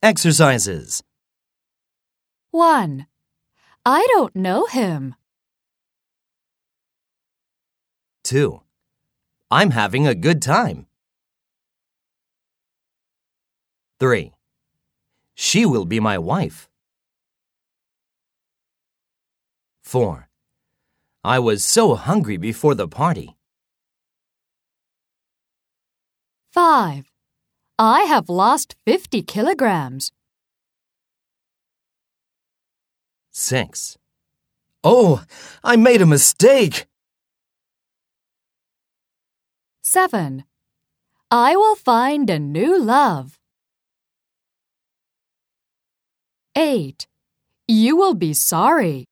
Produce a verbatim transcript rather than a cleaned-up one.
Exercises. one. I don't know him. two. I'm having a good time. three. She will be my wife. four. I was so hungry before the party. five. I have lost fifty kilograms. six. Oh, I made a mistake. seven. I will find a new love. eight. You will be sorry.